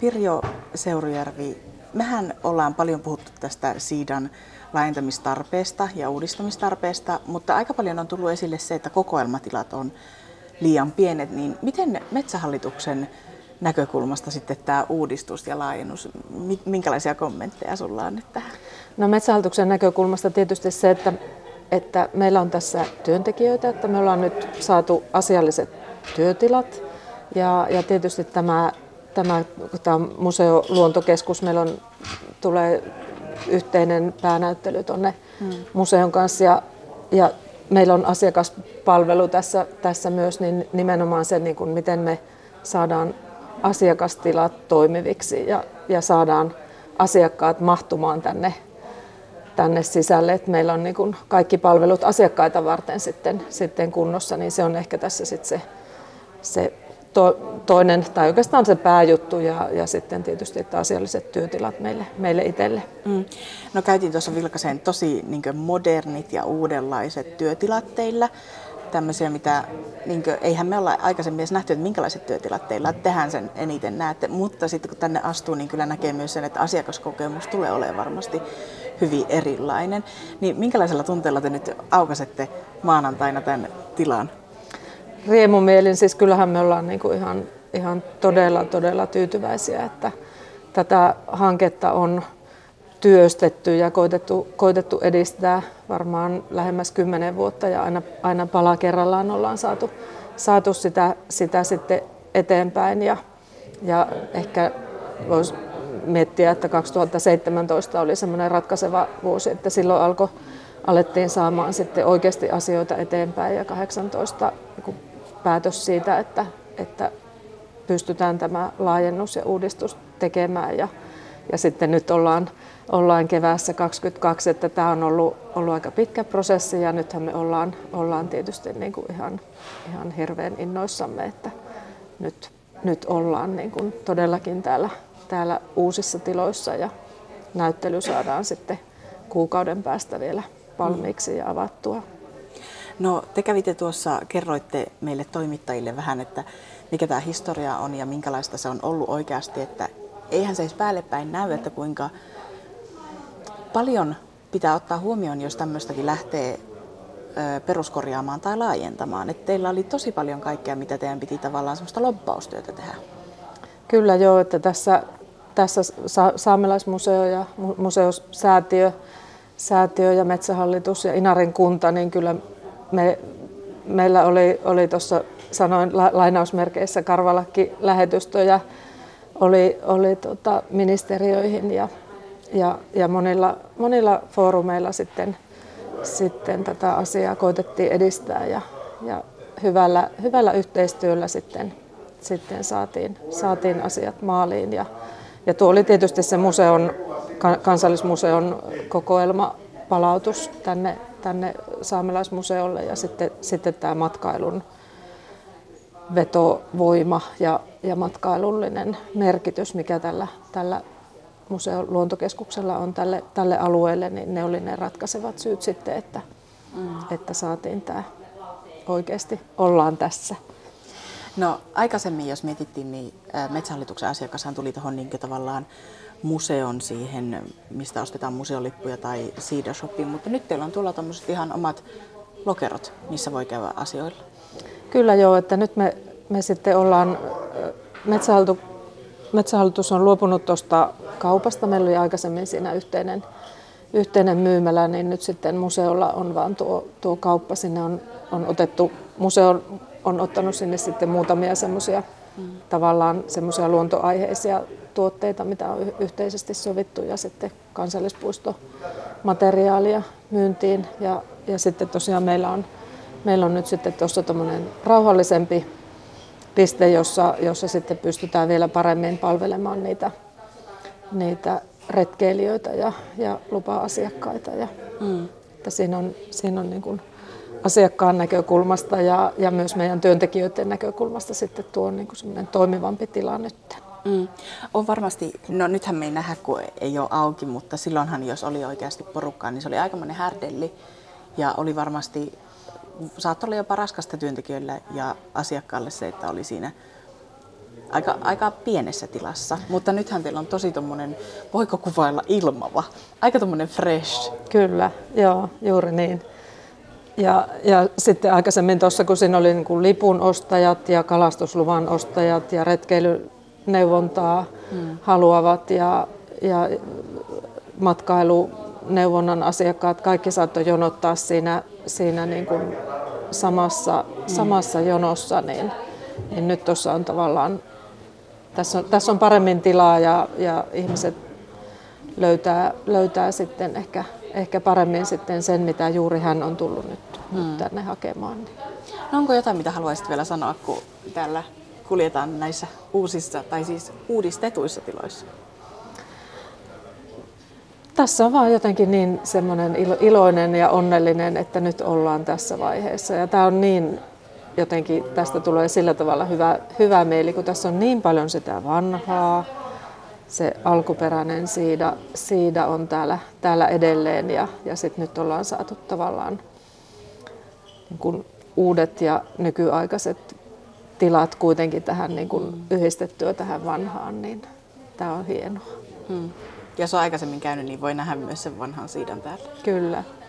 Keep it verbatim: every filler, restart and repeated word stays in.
Pirjo Seurujärvi, mehän ollaan paljon puhuttu tästä Siidan laajentamistarpeesta ja uudistamistarpeesta, mutta aika paljon on tullut esille se, että kokoelmatilat on liian pienet. Niin miten Metsähallituksen näkökulmasta sitten tämä uudistus ja laajennus, minkälaisia kommentteja sulla on nyt tähän? No Metsähallituksen näkökulmasta tietysti se, että, että meillä on tässä työntekijöitä, että me ollaan nyt saatu asialliset työtilat ja, ja tietysti tämä, tämä, tämä museoluontokeskus, meillä on, tulee yhteinen päänäyttely tuonne hmm. museon kanssa ja, ja meillä on asiakaspalvelu tässä, tässä myös, niin nimenomaan se, niin kuin miten me saadaan asiakastilat toimiviksi ja, ja saadaan asiakkaat mahtumaan tänne, tänne sisälle, että meillä on niin kuin kaikki palvelut asiakkaita varten sitten, sitten kunnossa, niin se on ehkä tässä sitten se, se to, toinen, tai oikeastaan se pääjuttu ja, ja sitten tietysti että asialliset työtilat meille, meille itselle. Mm. No käytiin tuossa vilkaiseen tosi niin kuin modernit ja uudenlaiset työtilat teillä. Tämmöisiä, mitä, niin kuin, eihän me olla aikaisemmin edes nähty, että minkälaiset työtilat teillä on, tehän sen eniten näette, mutta sitten kun tänne astuu, niin kyllä näkee myös sen, että asiakaskokemus tulee olemaan varmasti hyvin erilainen. Niin minkälaisella tunteella te nyt aukaisette maanantaina tämän tilan? Riemumielin, siis kyllähän me ollaan niin kuin ihan, ihan todella, todella tyytyväisiä, että tätä hanketta on työstetty ja koitettu, koitettu edistää varmaan lähemmäs kymmenen vuotta ja aina, aina pala kerrallaan ollaan saatu, saatu sitä, sitä sitten eteenpäin ja, ja ehkä voisi miettiä, että kaksituhattaseitsemäntoista oli semmoinen ratkaiseva vuosi, että silloin alkoi, alettiin saamaan sitten oikeasti asioita eteenpäin ja kahdeksantoista niin päätös siitä, että, että pystytään tämä laajennus ja uudistus tekemään ja, ja sitten nyt ollaan Ollaan keväässä kaksikymmentäkaksi, että tämä on ollut, ollut aika pitkä prosessi ja nythän me ollaan, ollaan tietysti niin kuin ihan, ihan hirveän innoissamme, että nyt, nyt ollaan niin kuin todellakin täällä, täällä uusissa tiloissa ja näyttely saadaan sitten kuukauden päästä vielä valmiiksi ja avattua. No te kävitte tuossa, kerroitte meille toimittajille vähän, että mikä tämä historia on ja minkälaista se on ollut oikeasti, että eihän se edes päälle päin näy, että kuinka paljon pitää ottaa huomioon, jos tämmöistäkin lähtee ö, peruskorjaamaan tai laajentamaan. Et teillä oli tosi paljon kaikkea, mitä teidän piti tavallaan semmoista lobbaustyötä tehdä. Kyllä joo, että tässä, tässä Saamelaismuseo ja museosäätiö säätiö ja Metsähallitus ja Inarin kunta, niin kyllä me, meillä oli, oli tuossa sanoin la, lainausmerkeissä karvalakki-lähetystöjä oli, oli tota, ministeriöihin ja Ja, ja monilla, monilla foorumeilla sitten, sitten tätä asiaa koitettiin edistää ja, ja hyvällä, hyvällä yhteistyöllä sitten, sitten saatiin, saatiin asiat maaliin. Ja, ja tuo oli tietysti se museon, kansallismuseon kokoelma palautus tänne, tänne Saamelaismuseolle ja sitten, sitten tämä matkailun vetovoima ja, ja matkailullinen merkitys, mikä tällä, tällä museon luontokeskuksella on tälle, tälle alueelle, niin ne oli ne ratkaisevat syyt sitten, että, mm. että saatiin tämä oikeasti ollaan tässä. No aikaisemmin, jos mietittiin, niin Metsähallituksen asiakashan tuli tuohon niin tavallaan museon siihen, mistä ostetaan museolippuja tai Siida Shopiin, mutta nyt teillä on tuolla tämmöiset ihan omat lokerot, missä voi käydä asioilla. Kyllä joo, että nyt me, me sitten ollaan, Metsähallitus, Metsähallitus on luopunut tuosta kaupasta, meillä oli aikaisemmin siinä yhteinen, yhteinen myymälä, niin nyt sitten museolla on vaan tuo, tuo kauppa, sinne on, on otettu, museo on ottanut sinne sitten muutamia semmoisia mm. tavallaan semmoisia luontoaiheisia tuotteita, mitä on yhteisesti sovittu ja sitten kansallispuistomateriaalia myyntiin ja, ja sitten tosiaan meillä on, meillä on nyt sitten tuossa tommoinen rauhallisempi piste, jossa, jossa sitten pystytään vielä paremmin palvelemaan niitä, niitä retkeilijöitä ja, ja lupa-asiakkaita. Ja, mm. että siinä on, siinä on niin kuin asiakkaan näkökulmasta ja, ja myös meidän työntekijöiden näkökulmasta sitten tuo niin kuin semmoinen toimivampi tila nyt. Mm. On varmasti, no nythän me ei nähdä, kun ei ole auki, mutta silloinhan jos oli oikeasti porukkaa, niin se oli aikamoinen härdelli ja oli varmasti, saattoi olla jopa raskasta työntekijöille ja asiakkaalle se, että oli siinä aika, aika pienessä tilassa, mutta nythän teillä on tosi tommonen, voiko kuvailla ilmava, aika tommonen fresh. Kyllä, joo, juuri niin. Ja, ja sitten aikaisemmin tuossa, kun siinä oli niin kuin lipun ostajat ja kalastusluvan ostajat ja retkeilyneuvontaa hmm. haluavat ja, ja matkailuneuvonnan asiakkaat, kaikki saattoi jonottaa siinä, siinä niin kuin samassa, hmm. samassa jonossa, niin, niin nyt tuossa on tavallaan, tässä on, tässä on paremmin tilaa ja, ja ihmiset löytää, löytää sitten ehkä, ehkä paremmin sitten sen, mitä juuri hän on tullut nyt, hmm. nyt tänne hakemaan. No onko jotain, mitä haluaisit vielä sanoa, kun täällä kuljetaan näissä uusissa tai siis uudistetuissa tiloissa? Tässä on vaan jotenkin niin semmoinen iloinen ja onnellinen, että nyt ollaan tässä vaiheessa. Ja tämä on niin, jotenkin tästä tulee sillä tavalla hyvä, hyvä mieli, kun tässä on niin paljon sitä vanhaa. Se alkuperäinen siida, siida on täällä, täällä edelleen ja, ja sit nyt ollaan saatu tavallaan niin kuin uudet ja nykyaikaiset tilat kuitenkin tähän niin kuin yhdistettyä tähän vanhaan, niin tämä on hienoa. Hmm. Jos on aikaisemmin käynyt, niin voi nähdä myös sen vanhan siidan täällä. Kyllä.